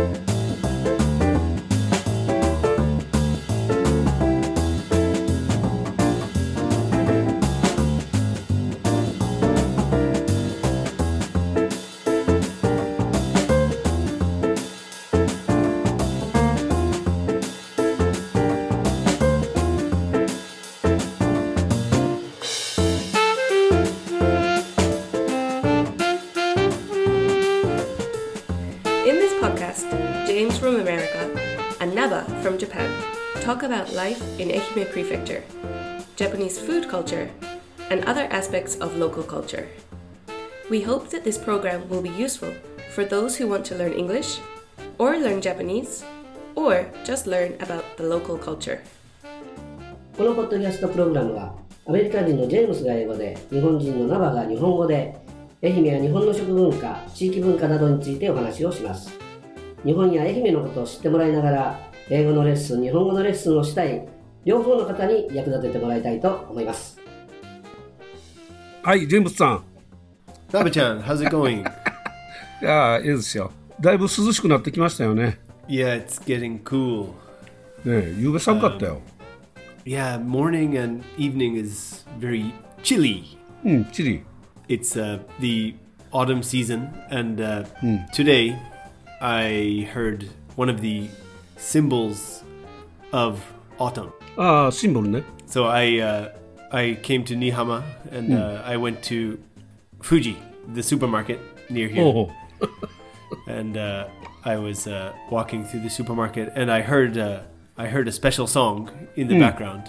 In this podcast, James from America and Naba from Japan talk about life in Ehime Prefecture, Japanese food culture, and other aspects of local culture. We hope that this program will be useful for those who want to learn English, or learn Japanese, or just learn about the local culture. このポッドキャストプログラムはアメリカ人のジェームスが英語で、日本人のナバが日本語で、愛媛や日本の食文化、地域文化などについてお話をします。日本や愛媛のことを知ってもらいながら、英語のレッスン、日本語のレッスンをしたい両方の方に役立ててもらいたいと思います。 はい、ジェームスさん。 ナベちゃん、how's it going? いやー、いいですよ。だいぶ涼しくなってきましたよね。 Yeah, it's getting cool. ねえ、夕べ寒かったよ。 Yeah, morning and evening is very chilly. チリ。 It's the autumn season, and today I heard one of the symbols of autumn. ああ、シンボルね。 So I came to Nihama, and I went to Fuji, the supermarket near here. And I was walking through the supermarket, and I heard a special song in the background.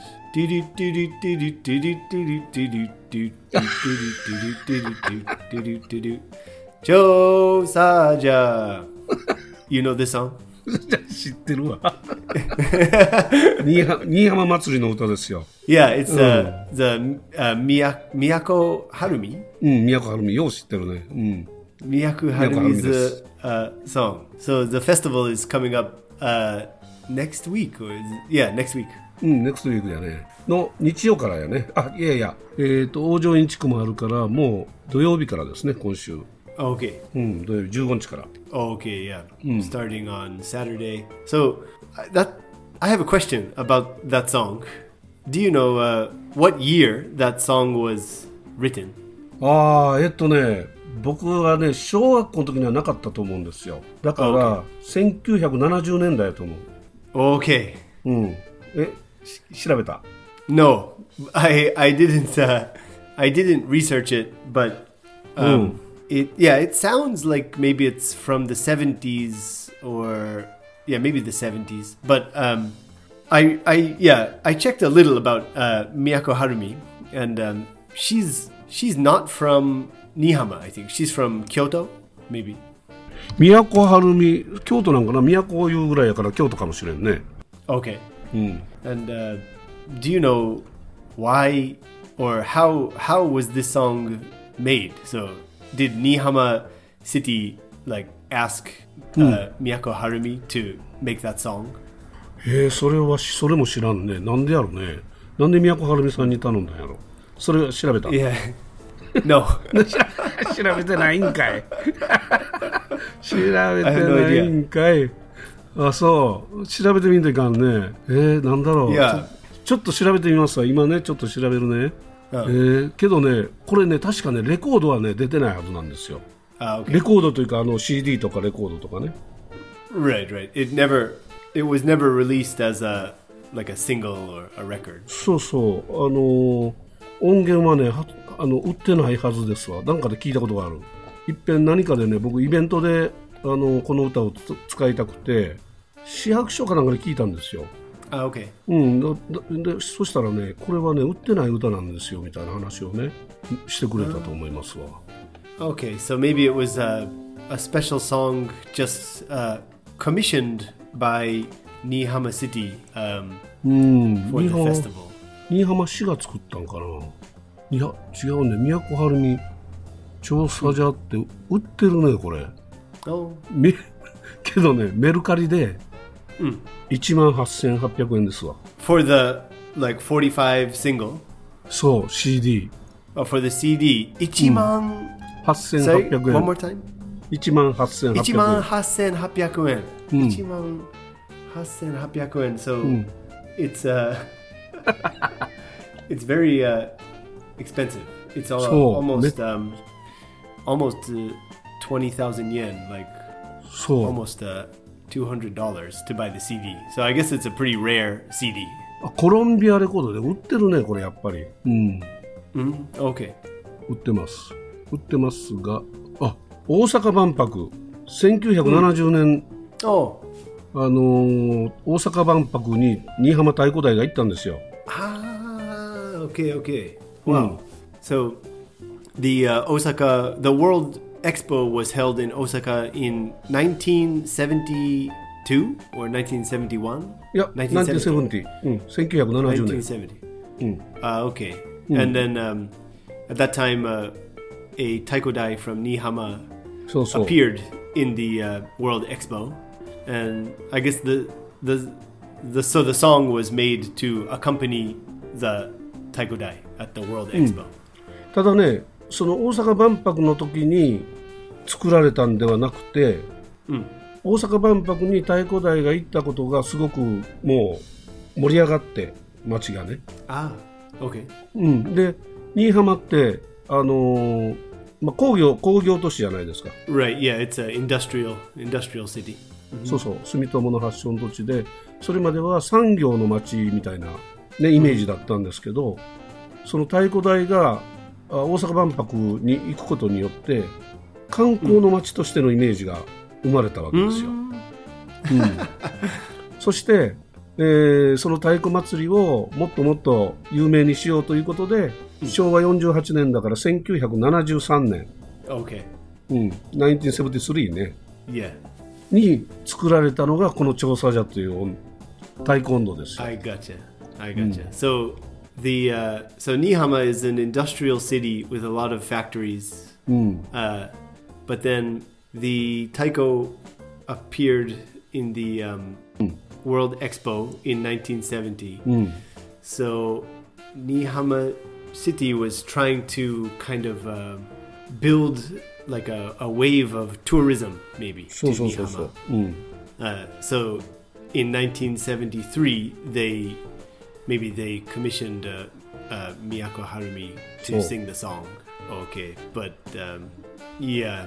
Joe Saja. You know this song? 知ってるわ。新居浜祭りの歌ですよ。 Yeah, it's the Miyako Harumi. 宮古晴美、よう知ってるね。 Miyako Harumi's song. So the festival is coming up next week. Next week. next week だね。の日曜からやね。あ、いやいや。往生インチクもあるから、もう土曜日からですね、今週。 Okay. 土曜日15日から。 Okay, yeah. Starting on Saturday. So I have a question about that song. Do you know what year that song was written? ああ、僕はね、小学校の時にはなかったと思うんですよ。だから、1970年代だと思う。 Okay. 調べた？ No, I didn't research it, but it sounds like maybe it's from the 70s or maybe the 70s. But I checked a little about Miyako Harumi, and she's not from Nihama, I think. She's from Kyoto, maybe. 宮古晴美、京都なんかな。宮古いうぐらいやから京都かもしれんね。 Okay. And do you know why or how was this song made? So did Nihama City ask Miyako Harumi to make that song? それも知らんね。なんでやろね。なんで宮古晴美さんに頼んだんやろ。それ調べた？ Yeah. No. 調べてないんかい。調べてないんかい。あ、そう。調べてみんといかんね。なんだろう。ちょっと調べてみますわ。今ね、ちょっと調べるね。けどね、これね、確かね、レコードはね、出てないはずなんですよ。 Okay. レコードというか、CD とかレコードとかね。 Right. It was never released as a single or a record. そうそう。音源はね、売ってないはずですわ。なんかで聞いたことがある。いっぺん何かでね、僕イベントでこの歌を使いたくて、市役所かなんかで聞いたんですよ。 Okay. でそしたらね、これはね、売ってない歌なんですよみたいな話をね、してくれたと思いますわ。 Okay, so maybe it was a special song just commissioned by Nihama City for the festival. 新居浜市が作ったんかな。いや、違うね。宮古晴美調査じゃって売ってるね、これ。けどね、メルカリで18,800円ですわ。 For the 45 single? そう、CD. For the CD, 18,800円。 8,800円。 One more time? 18,800 円。 18,800 円. So it's it's very expensive. It's almost 20,000 yen, like そう。 almost $200 to buy the CD. So I guess it's a pretty rare CD. コロンビアレコードで売ってるね、これやっぱり。 Okay. 売ってます。売ってますが、大阪万博、1970年、 Oh. 大阪万博に新居浜太鼓台が行ったんですよ。 Okay. Wow. So the Osaka, the World Expo was held in Osaka in 1972 or 1971? いや、1970、1970年。 1970. Okay. And then at that time, a taikodai from Nihama そうそう。 appeared in the World Expo, and I guess the song was made to accompany the taikodai at the World Expo. ただね、その大阪万博の時に作られたんではなくて、大阪万博に太鼓台が行ったことがすごくもう盛り上がって街がね。 Okay. で、新居浜って工業都市じゃないですか。 Right. Yeah, it's an industrial city. そうそう、住友の発祥の土地で、それまでは産業の街みたいな、ね、イメージだったんですけど、その太鼓台が大阪万博に行くことによって観光の街としてのイメージが生まれたわけですよ。そして、その太鼓祭りをもっともっと有名にしようということで、昭和48年だから1973年、 Okay. 1973ね、 Yeah. に作られたのがこの調査所という太鼓音頭ですよ。 I gotcha. So so Nihama is an industrial city with a lot of factories. But then the taiko appeared in the World Expo in 1970. So Nihama City was trying to kind of build like a wave of tourism, maybe. そう to そうそうそう。 Nihama. So in 1973, they commissioned Miyako Harumi to sing the song. Okay, but yeah.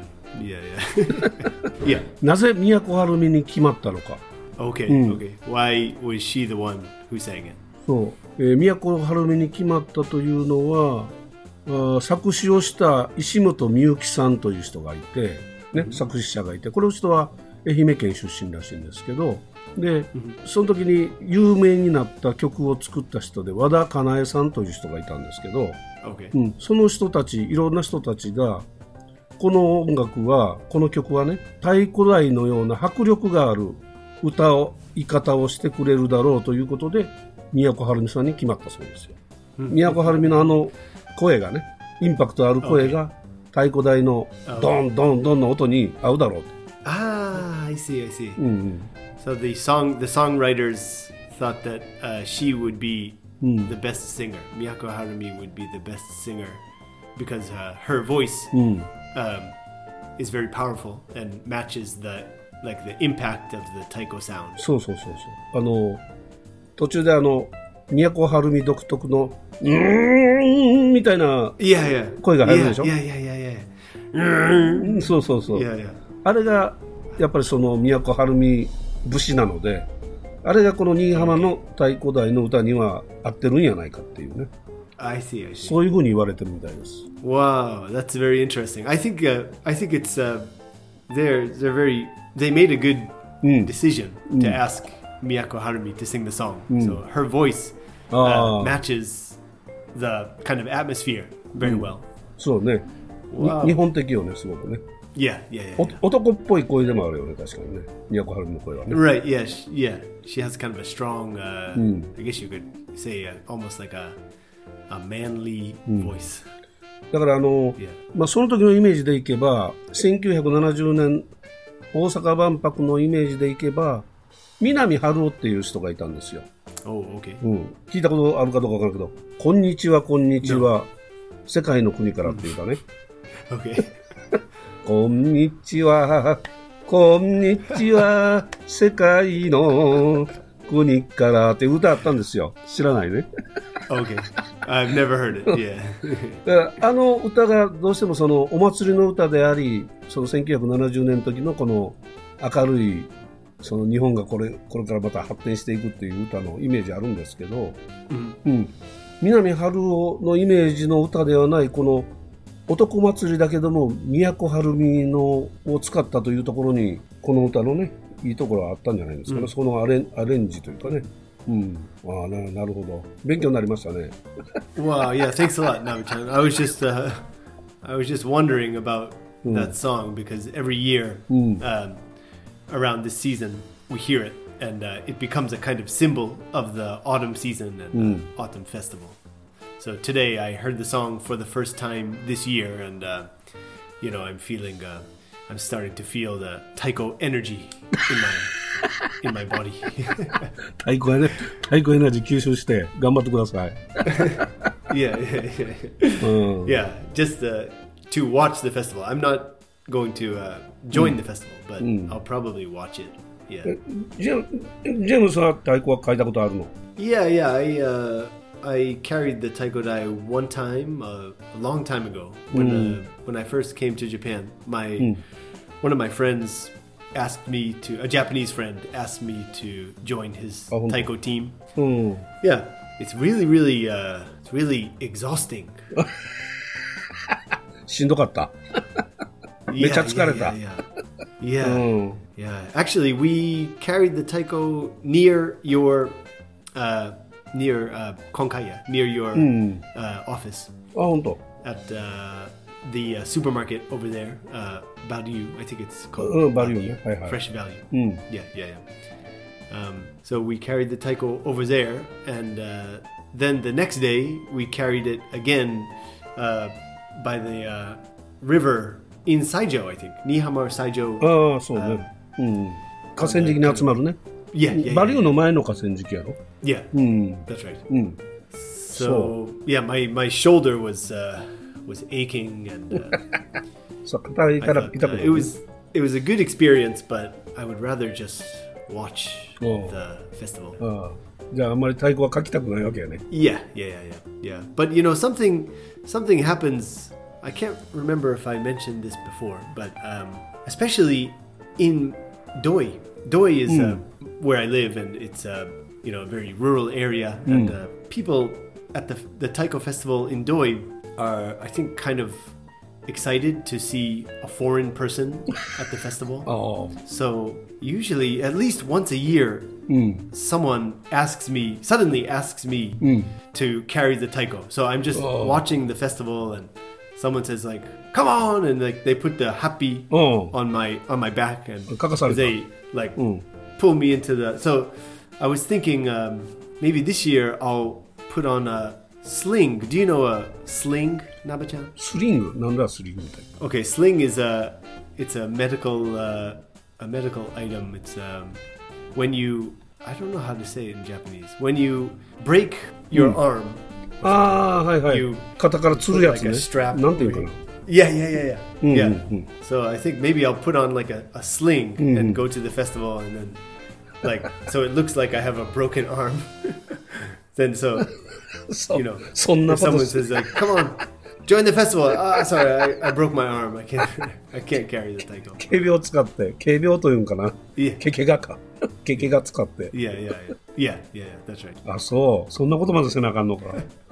なぜ都はるみに決まったのか。 Okay. Why was she the one who sang it? そう、都はるみに決まったというのは、作詞をした石本美由紀さんという人がいて、ね、作詞者がいて、この人は愛媛県出身らしいんですけど、で、その時に有名になった曲を作った人で和田かなえさんという人がいたんですけど、 Okay. その人たち、いろんな人たちがこの音楽は、この曲はね、太鼓台のような迫力があるい方をしてくれるだろうということで都はるみさんに決まったそうですよ。都はるみの声がね、インパクトある声が太鼓台のドンドンドンの音に合うだろうと。 I see. So the songwriters thought that she would be the best singer. Miyako Harumi would be the best singer because her voice is very powerful and matches the impact of the taiko sound. そう。途中で都はるみ独特のみたいな声が入るでしょ。そう。あれがやっぱりその都はるみ節なので、あれがこの新居浜の太鼓台の歌には合ってるんやないかっていうね。 I see. そういうふうに言われてるみたいです。 Wow, that's very interesting. I think it's they made a good decision to ask Miyako Harumi to sing the song. So her voice matches the kind of atmosphere very well. そうね。日本的よね、すごくね。 Yeah. 男っぽい声でもあるよね、確かにね。都はるみの声はね。 Right, yeah. She has kind of a strong, I guess you could say almost like a manly voice. だからその時のイメージでいけば、1970年大阪万博のイメージでいけば、南春夫っていう人がいたんですよ。 Okay. 聞いたことあるかどうかわからんけど、こんにちは、世界の国からっていうかね。 Okay. こんにちはこんにちは世界の国からって歌あったんですよ。知らないね。 Okay. I've never heard it. Yeah. あの歌がどうしてもそのお祭りの歌であり、その1970年の時のこの明るいその日本がこれからまた発展していくっていう歌のイメージあるんですけど、南春夫のイメージの歌ではないこの男祭りだけども都はるみのを使ったというところにこの歌のねいいところはあったんじゃないですかね、そのアレンジというかね。なるほど。勉強になりましたね。 Wow, yeah, thanks a lot, Nabe-chan. I was just wondering about that song because every year around this season we hear it and it becomes a kind of symbol of the autumn season and autumn festival. So today I heard the song for the first time this year and I'm starting to feel the taiko energy in my body. 太鼓エナジー吸収して頑張ってください。 Yeah. Yeah, just to watch the festival. I'm not going to join the festival, but I'll probably watch it. Yeah. ジェームスは太鼓は書いたことあるの？ Yeah. I carried the taiko dai one time, a long time ago, when I first came to Japan. One of my friends asked me to, a Japanese friend asked me to join his taiko team. Yeah, it's really exhausting. しんどかった。めっちゃ疲れた。 Yeah. Actually, we carried the taiko near your Konkaya, near your office. あ、本当。 At the supermarket over there, Value, I think it's called Value. Fresh Value. Yeah. So we carried the taiko over there, and then the next day we carried it again by the river in Saijo, I think. Nihama or Saijo. ああ、そうね。河川敷に集まるね。バリューの前の河川敷やろ。 Yeah, that's right. So yeah, my shoulder was aching and it was a good experience, but I would rather just watch the festival. じゃああんまり太鼓は書きたくないわけやね。 Yeah. But something happens. I can't remember if I mentioned this before, but especially in Doi. Doi is where I live, and it's a very rural area, and people at the taiko festival in Doi are, I think, kind of excited to see a foreign person at the festival. So usually, at least once a year, someone suddenly asks me to carry the taiko. So I'm just watching the festival, and someone says like, "Come on!" and like they put the happy on my back, and they like pull me into the. So I was thinking maybe this year I'll put on a sling. Do you know a sling, Nabe-chan? Sling? なんだスリングって。 Okay, sling is it's a medical item. It's when you, I don't know how to say it in Japanese. When you break your arm. ああ、はいはい。肩からつるやつね。なんていうかな。 Yeah. So I think maybe I'll put on like a sling and go to the festival, and then like so it looks like I have a broken arm. Then so if someone says like, "Come on, join the festival." Sorry, I broke my arm. I can't carry the taiko. 警備を使って、警備をというんかな。けが使って。 Yeah, that's right. あ、そう。そんなことまでせなあかんのか。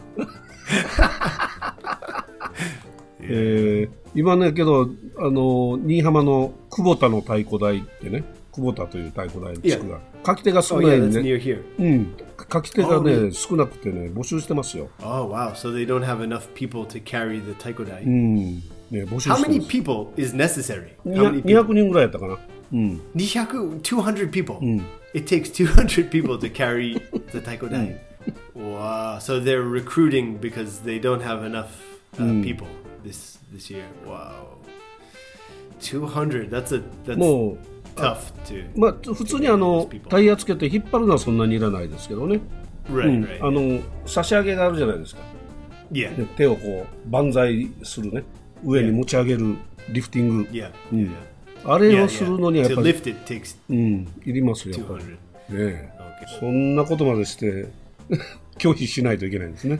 今ねけど新居浜の久保田の太鼓台ってね、久保田という太鼓台の地区が書き手が少ないんでね。書き手がね少なくてね募集してますよ。 Oh wow! So they don't have enough people to carry the taiko dai. ね募集してます。 How many people is necessary? 200人ぐらいやったかな。 200 people. It takes 200 people to carry the taiko dai. Wow! So they're recruiting because they don't have enough people this year. Wow! 200. That's tough to. まあ普通にタイヤつけて引っ張るのはそんなにいらないですけどね。 Right. 差し上げがあるじゃないですか。 Yeah. 手をこう万歳するね。上に持ち上げるリフティング。 Yeah. うん Yeah. あれをするのにはやっ To ぱり、 lift it takes いりますよ、やっぱり。 200. ねえそんなことまでして拒否しないといけないんですね。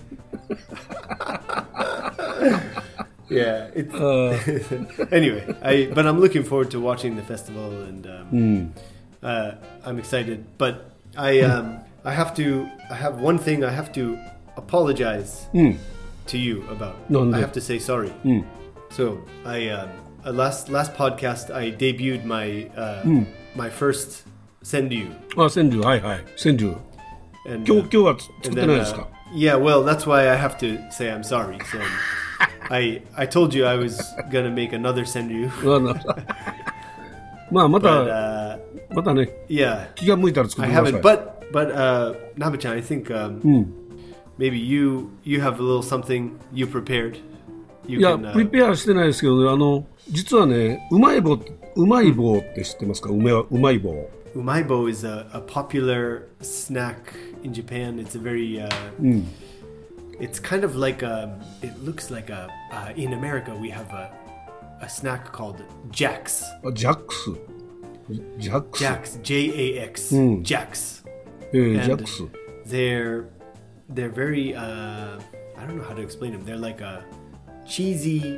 Yeah. It's, anyway, but I'm looking forward to watching the festival, and I'm excited. But I have one thing I have to apologize to you about. I have to say sorry. So last podcast I debuted my my first senryu. あ、川柳、はいはい。川柳。 And, 今日は作ってないですか？ yeah, well, that's why I have to say I'm sorry. So I told you I was gonna make another senryu. まあま But た、またね、 yeah, 気が向いたら作っ I てください。 haven't. But Nabe-chan, I think maybe you have a little something you prepared. You いや、 can, プリペアしてないですけどね、実はね、うまい棒って知ってますか？うまい棒。 Umaibo is a popular snack in Japan. It's a very it's kind of like it looks like in America we have a snack called Jax. あジャックス。ジャックス。 Jax, J-A-X, Jax. ジャ And ックス。 they're very I don't know how to explain them. They're like a cheesy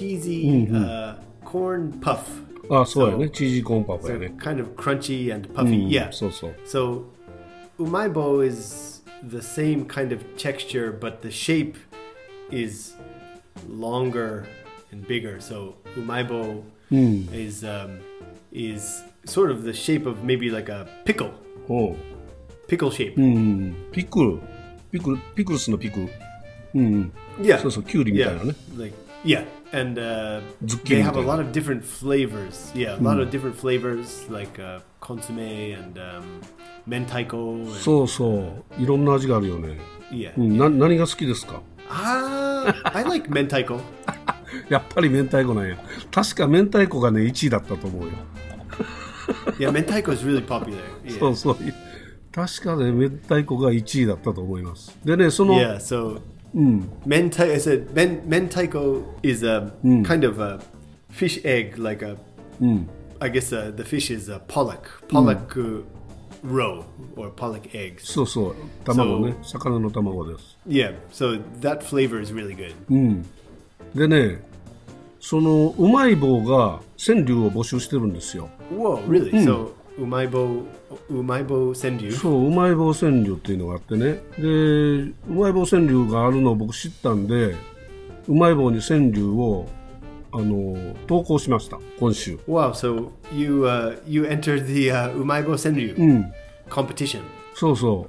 corn puff. あ、そうやね。チージーコーンパフ So やね。 kind of crunchy and puffy. Yeah. そうそう。 So umaibo is the same kind of texture, but the shape is longer and bigger. So umaibo is sort of the shape of maybe like a pickle おう shape. ピクルスのピクル。 Yeah. そうそう、キュウリみたいなね。 Like yeah, and Zucchini they have a type. lot of different flavors. Yeah, a lot of different flavors like consomme and mentaiko. And, そうそう。いろんな味があるよね。 yeah. 何が好きですか？ I like mentaiko. やっぱり明太子なんや。確か明太子がね、1位だったと思うよ。 Yeah, mentaiko is really popular. Yeah. そうそう。確かね、明太子が1位だったと思います。でね、その、 Yeah, so I said mentaiko is a kind of a fish egg, like a. I guess the fish is a pollock roe or pollock eggs. そうそう、卵ね、魚の卵です。 Yeah, so that flavor is really good. でね、そのうまい棒が川柳を募集してるんですよ。 Whoa, really? So umaibo senryu. そう、うまい棒川柳っていうのがあってね。で、うまい棒川柳があるのを僕知ったんで、うまい棒に川柳を投稿しました、今週。 Wow, so you entered the umaibo senryu competition. そうそう。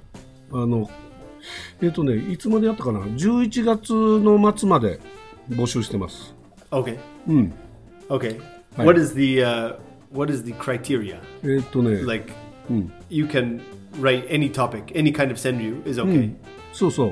いつまでやったかな ?11 月の末まで募集してます。 Okay. Okay. Hi. What is the criteria? Like you can write any topic, any kind of senryu is okay. そうそう。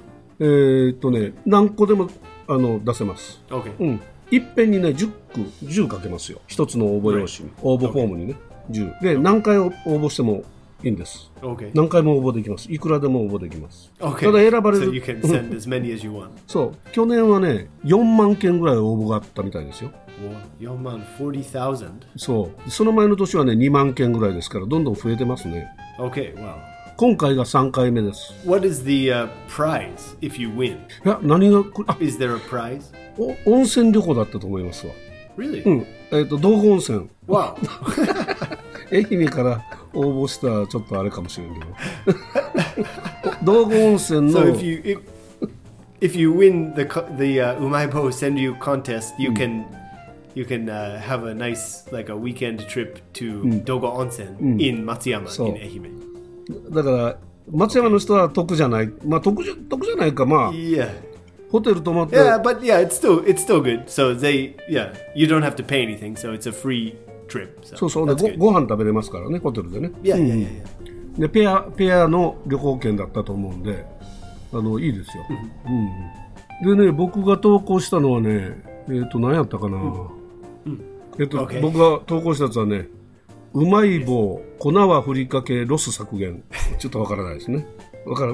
何個でも出せます。 Okay. いっぺんにね、10書けますよ。一つの応募用紙に、応募フォームにね、10。で、何回応募してもいいんです。 Okay. 何回も応募できます。いくらでも応募できます。 Okay. ただ選ばれ So る。 you can send as many as you want. そう。去年はね、4万件ぐらい応募があったみたいですよ。 40,000. そう。その前の年はね、2万件ぐらいですから、どんどん増えてますね。 Okay, wow. 今回が3回目です。 What is the prize if you win? いや、何が、 Is there a prize? 温泉旅行だったと思いますわ。 Really? 道後温泉。 Wow. 愛媛から応募したらちょっとあれかもしれんけど。道後温泉の。 So if you win the umaibo senryu contest, you can have a nice like a weekend trip to Dogo Onsen in Matsuyama in Ehime. だから松山の人は得じゃない。まあ得じゃないか、まあ。 Yeah. ホテル泊まって。 Yeah, but yeah, it's still good. So you don't have to pay anything, so it's a free trip. So そうそう。 that's で good. ご飯食べれますからね、ホテルでね。 Yeah. でペアの旅行券だったと思うんで、いいですよ。でね、僕が投稿したのはね、何やったかな。 Okay. 僕が投稿したやつはね、うまい棒、粉はふりかけ、ロス削減。ちょっとわからないですね。わかる？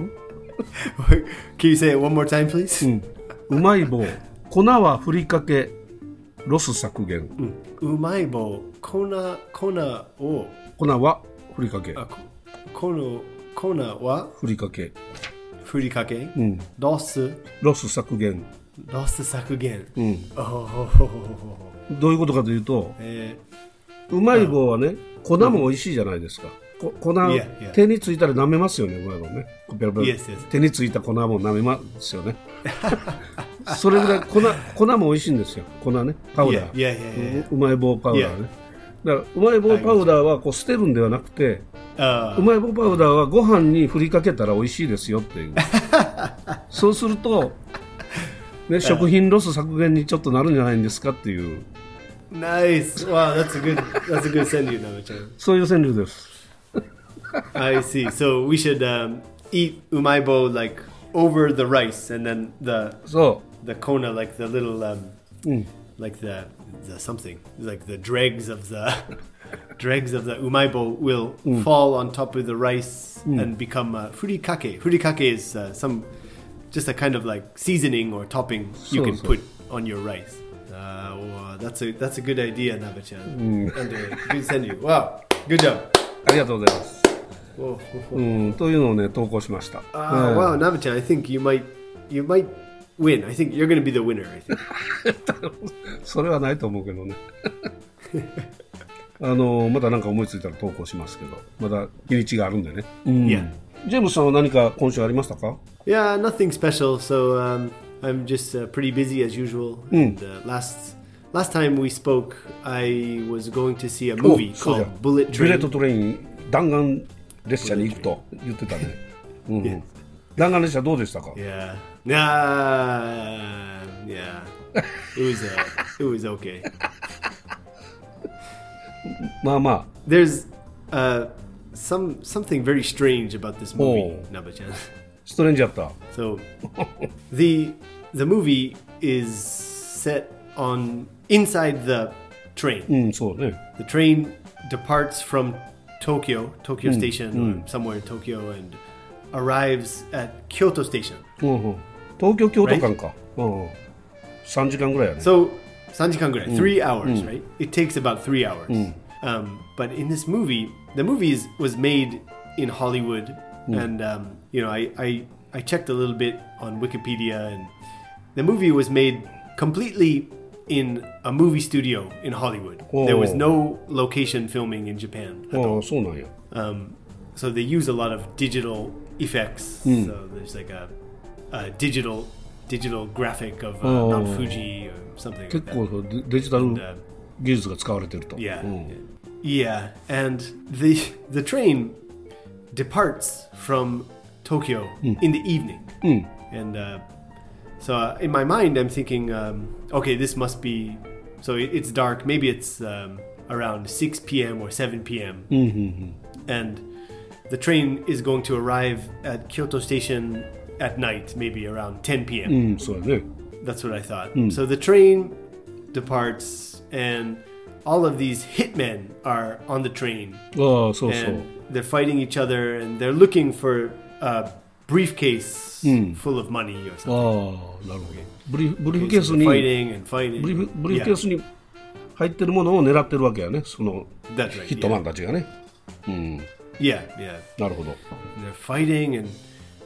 Can you say it one more time, please? うまい棒、粉はふりかけ、 ロス削減。 うまい棒、粉を、 粉はふりかけ。 粉はふりかけ。 ふりかけ、ロス削減。 削減。 どういうことかというと、うまい棒はね、粉も美味しいじゃないですか。粉、手についたら舐めますよね、うまい棒ね。手についた粉も舐めますよね。それぐらい粉も美味しいんですよ。粉ね、パウダー。うまい棒パウダーね。だからうまい棒パウダーはこう捨てるんではなくて、うまい棒パウダーはご飯に振りかけたら美味しいですよっていう。そうすると、ね、食品ロス削減にちょっとなるんじゃないんですかっていう。 Nice. Wow, that's a good川柳, Nava-chan. そういう川柳です。 I see. So we should eat umaibo like over the rice, and then the kona, like the little like the something, like the dregs of the umaibo will fall on top of the rice and become furikake. Furikake is just a kind of like seasoning or topping you can put on your rice. Wow, that's a good idea, Nava-chan. And good senryu. Wow, good job. ありがとうございます。というのをね投稿しました。 Wow, Nava-chan, I think you might win. I think you're going to be the winner. I think. それはないと思うけどね。また何か思いついたら投稿しますけど、まだ日にちがあるんでね。ジェームスさんは何か今週ありましたか？ Yeah, nothing special. So I'm just pretty busy as usual. And last time we spoke, I was going to see a movie called Bullet Train. ブレットトレイン弾丸列車に行くと言ってたね。弾丸列車どうでしたか？ Yeah. It was okay. まあまあ。 There's something very strange about this movie, Nava-chan. ストレンジだった。 So the movie is set on inside the train. そうね。 The train departs from Tokyo Station or somewhere in Tokyo and arrives at Kyoto Station. 東京京都間か。3時間ぐらいやね。 So 3時間ぐらい, 3 hours, right? It takes about 3 hours. But in this movie, the movie was made in Hollywood, and I checked a little bit on Wikipedia, and the movie was made completely in a movie studio in Hollywood. There was no location filming in Japan at all. そうなんや。 So they use a lot of digital effects. So there's like a digital graphic of Mount Fuji or something like that. 結構デジタル技術が使われてると。 Yeah, and the train departs from Tokyo in the evening. And so in my mind, I'm thinking, okay, this must be... So it's dark. Maybe it's around 6 p.m. or 7 p.m. And the train is going to arrive at Kyoto Station at night, maybe around 10 p.m. そうだね。 That's what I thought. So the train departs, and all of these hitmen are on the train. And they're fighting each other, and they're looking for a briefcase full of money or something. なるほど。ブリーフケースに fighting. ブリーフケースに入ってるものを狙ってるわけやね。そのヒットマンたちがね。 Yeah. なるほど。 They're fighting, and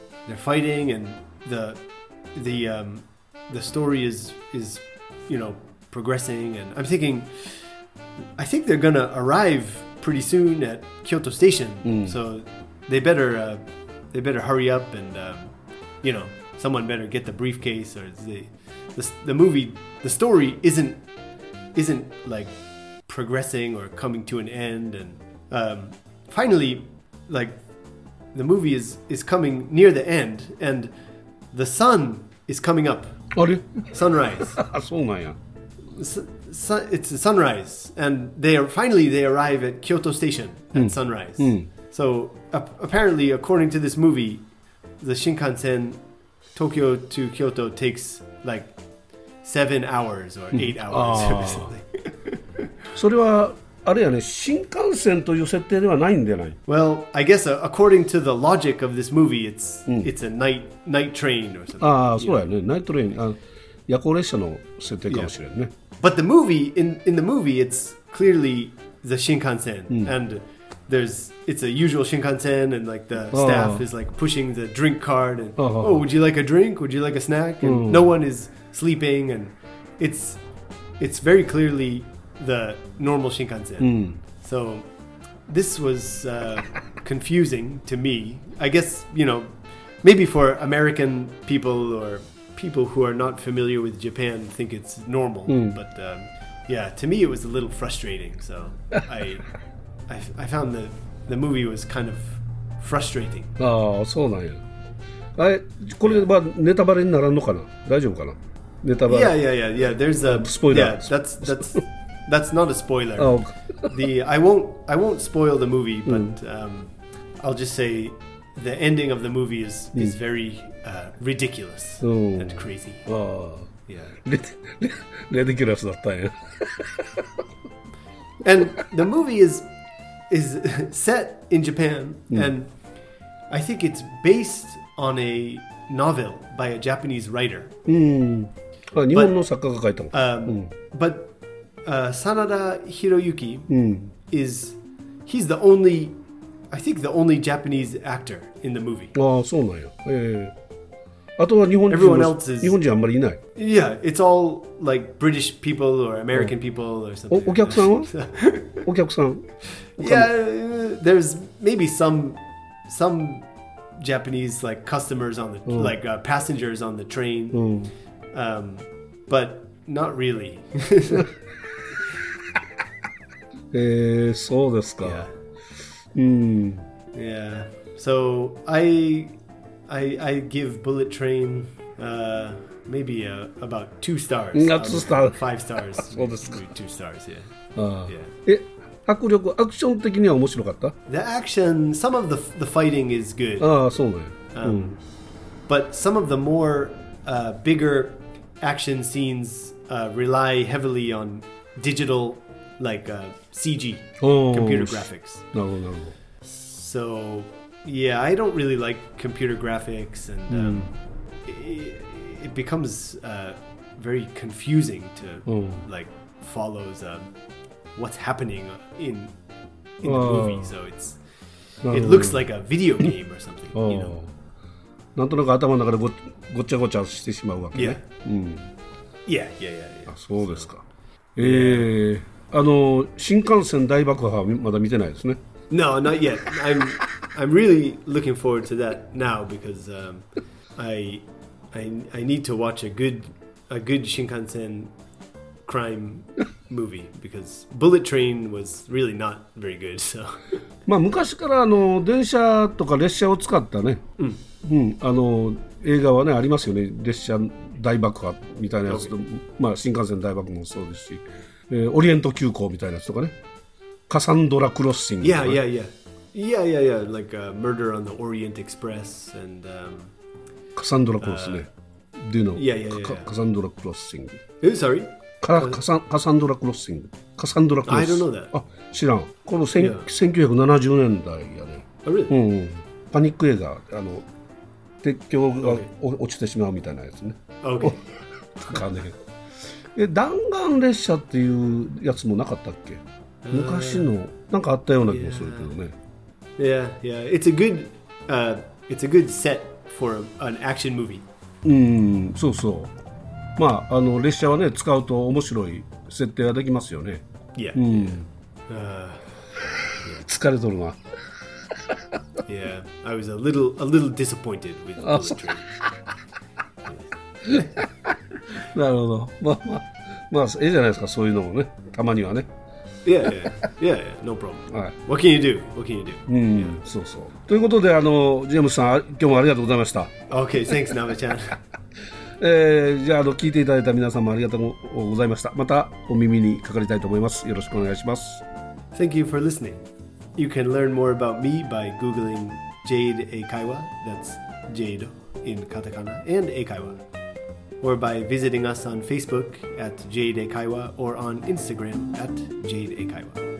the story is progressing, and I'm thinking, I think they're gonna arrive pretty soon at Kyoto Station, so they better hurry up, and someone better get the briefcase, or the movie, the story isn't like progressing or coming to an end, and finally, like, the movie is coming near the end, and the sun is coming up. あれ? Sunrise. そうなんや。 It's sunrise, and they arrive at Kyoto Station at sunrise. So apparently, according to this movie, the Shinkansen Tokyo to Kyoto takes like 7 hours or 8 hours or something. それはあれやね、新幹線という設定ではないんじゃない？ Well, I guess according to the logic of this movie, it's a night train or something. そうやね、ナイトトレイン。 夜行列車の設定かもしれんね。 But the movie, in the movie, it's clearly the Shinkansen, and it's a usual Shinkansen, and like the staff is like pushing the drink cart, and oh, would you like a drink? Would you like a snack? And no one is sleeping, and it's very clearly the normal Shinkansen. So this was confusing to me. I guess, maybe for American people or people who are not familiar with Japan think it's normal, but to me it was a little frustrating. So I found the movie was kind of frustrating. ああ、そうなんや。これはネタバレにならんのかな？大丈夫かな？ネタバレ。 Yeah. There's a spoiler. Yeah, that's not a spoiler. Oh. I won't spoil the movie, but I'll just say the ending of the movie is very ridiculous and crazy. Yeah. Ridiculous だったんや。 And the movie is set in Japan, and I think it's based on a novel by a Japanese writer. 日本の作家が書いたの。 But Sanada Hiroyuki he's the only, I think the only Japanese actor in the movie. ああ、そうなんや。あとは日本人あんまりいない。 Yeah, it's all like British people or American people or something. お客さんはお客さん Yeah, there's maybe some Japanese like customers on the like passengers on the train, but not really. そうですか。 Yeah. So I give Bullet Train maybe about 2 stars. 2 stars. 5 stars. そうですか。 2 stars, yeah. 迫力、アクション的には面白かった？ The action, some of the fighting is good. ああ、そうね。 But some of the more bigger action scenes rely heavily on digital, like CG, computer graphics. なるほど、なるほど。 So, yeah, I don't really like computer graphics, and it becomes very confusing to like follows what's happening in the movie. So it looks like a video game or something. なんとなく頭の中でごちゃごちゃしてしまうわけね。 Yeah. あ、そうですか。新幹線大爆破はまだ見てないですね。 No, not yet. I'm really looking forward to that now because I need to watch a good Shinkansen crime movie because Bullet Train was really not very good. So まあ昔から電車とか列車を使ったね、映画はねありますよね。列車大爆破みたいなやつと、まあ新幹線大爆破もそうですし、オリエント急行みたいなやつとかね。カサンドラクロッシング。 Yeah. Like Murder on the Orient Express and カサンドラクロスね。Do you know? Yeah. カサンドラクロッシング。 Sorry? カサンドラクロッシング。カサンドラクロッシング。 I don't know that. あ、知らん。この1970年代やね。 Really? パニック映画、鉄橋が落ちてしまうみたいなやつね。 Okay. なんかね。弾丸列車っていうやつもなかったっけ？昔のなんかあったような気もするけどね。 Yeah. It's a good set for an action movie. そうそう。まあ列車はね使うと面白い設定ができますよね。 Yeah. 疲れとるな。 Yeah, I was a little disappointed with Bullet Train. なるほど。まあいいじゃないですかそういうのもねたまにはね。 Yeah, no problem. What can you do? そうそう。ということでジェームスさん今日もありがとうございました。 Okay, thanks, Nava-chan. じゃあ聞いていただいた皆さんもありがとうございました。またお耳にかかりたいと思います。よろしくお願いします。 Thank you for listening. You can learn more about me by googling Jade Eikaiwa. That's Jade in katakana and Eikaiwa. Or by visiting us on Facebook at Jade Eikaiwa or on Instagram at Jade Eikaiwa.